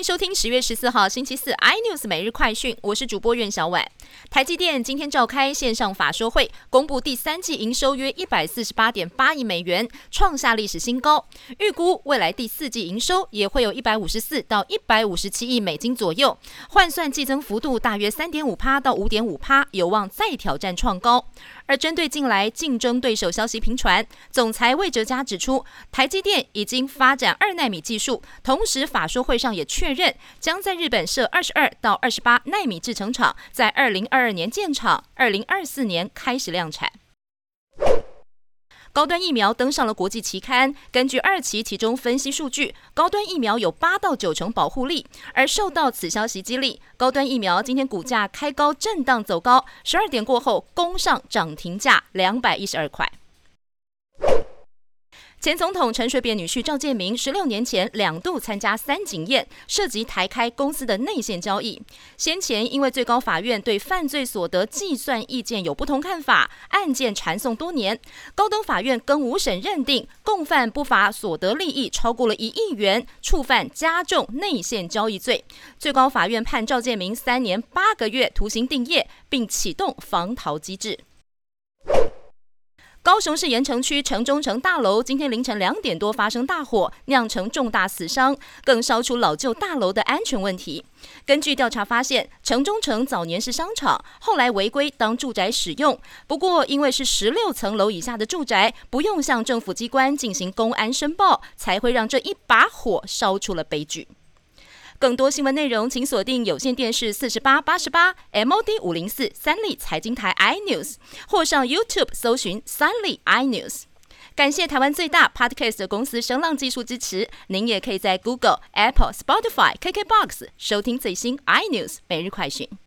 收听10月14号星期四 iNews 每日快讯，我是主播苑小婉。台积电今天召开线上法说会，公布第三季营收约148.8亿美元，创下历史新高。预估未来第四季营收也会有154到157亿美金左右，换算季增幅度大约 3.5% 到 5.5%， 有望再挑战创高。而针对近来竞争对手消息频传，总裁魏哲嘉指出，台积电已经发展2奈米技术，同时法说会上也确认将在日本设22到28奈米制程厂，在2022年建厂，2024年开始量产。高端疫苗登上了国际期刊，根据2期其中分析数据，高端疫苗有8到9成保护力。而受到此消息激励，高端疫苗今天股价开高震荡走高，12点过后攻上涨停价212块。前总统陈水扁女婿赵建明16年前2度参加三井宴，涉及台开公司的内线交易。先前因为最高法院对犯罪所得计算意见有不同看法，案件缠讼多年，高等法院更5审认定共犯不法所得利益超过了1亿元，触犯加重内线交易罪。最高法院判赵建明3年8个月徒刑定谳，并启动防逃机制。高雄市盐埕区城中城大楼今天凌晨2点多发生大火，酿成重大死伤，更烧出老旧大楼的安全问题。根据调查发现，城中城早年是商场，后来违规当住宅使用。不过因为是16层楼以下的住宅，不用向政府机关进行公安申报，才会让这一把火烧出了悲剧。更多新闻内容，请锁定有线电视4888 MOD 504三立财经台 iNews， 或上 YouTube 搜寻三立 iNews。感谢台湾最大 Podcast 公司声浪技术支持。您也可以在 Google、Apple、Spotify、KKBox 收听最新 iNews 每日快讯。